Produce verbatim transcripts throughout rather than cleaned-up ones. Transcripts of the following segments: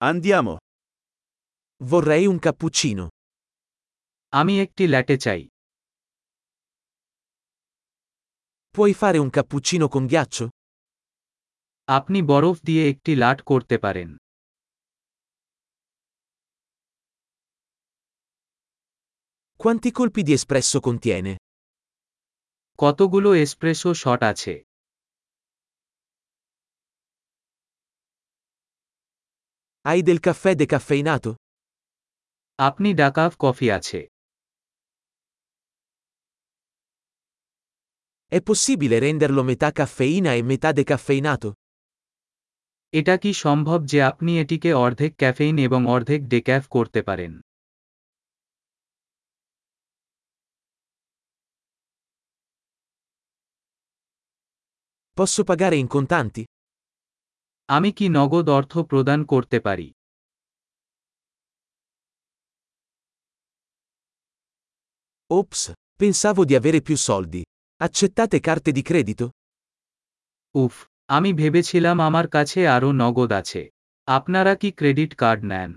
Andiamo. Vorrei un cappuccino. আমি একটি ল্যাটে চাই। Puoi fare un cappuccino con ghiaccio? আপনি বরফ দিয়ে একটি লাট করতে পারেন। Quanti colpi di espresso contiene? কতগুলো এসপ্রেসো শট আছে? Hai del caffè decaffeinato? আপনি ডাকাফ কফি আছে? È possibile renderlo metà caffeina e metà decaffeinato? এটা কি সম্ভব যে আপনি এটিকে অর্ধেক ক্যাফেইন এবং অর্ধেক ডেক্যাফ করতে পারেন? Posso pagare in contanti? আমি কি নগদ অর্থ প্রদান করতে পারি? Ops, pensavo di avere più soldi. Accettate carte di credito? উফ, আমি ভেবেছিলাম আমার কাছে আরও নগদ আছে। আপনারা কি ক্রেডিট কার্ড নেন?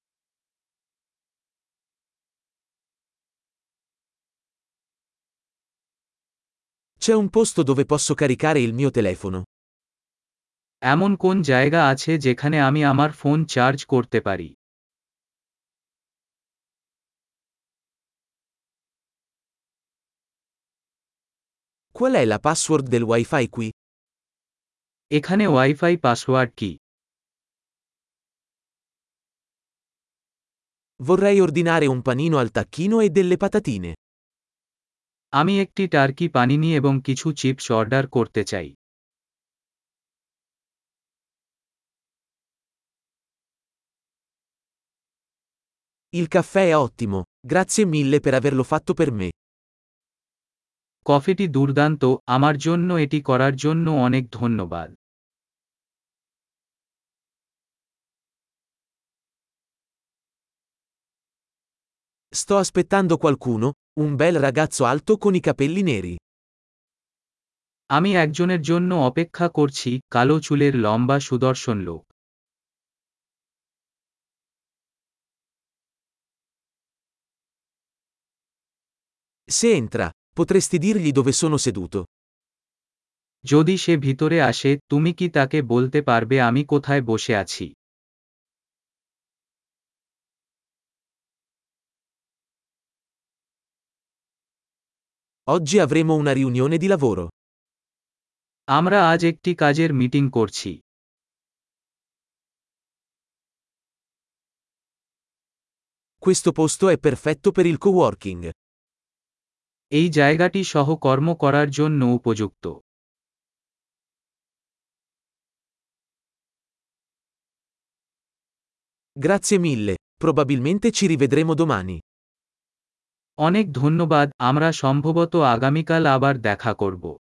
C'è un posto dove posso caricare il mio telefono. এমন কোন জায়গা আছে যেখানে আমি আমার ফোন চার্জ করতে পারি? Qual è la password del Wi-Fi qui? এখানে ওয়াইফাই পাসওয়ার্ড কি? Vorrei ordinare un panino al tacchino e delle patatine. আমি একটি টার্কি পানিনি এবং কিছু চিপস অর্ডার করতে চাই। Il caffè è ottimo, grazie mille per averlo fatto per me. কফিটি দুর্দান্ত, আমার জন্য এটি করার জন্য অনেক ধন্যবাদ। Sto aspettando qualcuno, un bel ragazzo alto con i capelli neri. আমি একজনের জন্য অপেক্ষা করছি, কালো চুলের লম্বা সুদর্শন লোক। Se entra, potresti dirgli dove sono seduto. যদি সে ভিতরে আসে, তুমি কি তাকে বলতে পারবে আমি কোথায় বসে আছি? Oggi avremo una riunione di lavoro. আমরা আজ একটি কাজের মিটিং করছি। Questo posto è perfetto per il coworking. এই জায়গাটি সহকর্ম করার জন্য উপযুক্ত। Grazie mille, probabilmente ci rivedremo domani. অনেক ধন্যবাদ, আমরা সম্ভবত আগামীকাল আবার দেখা করব।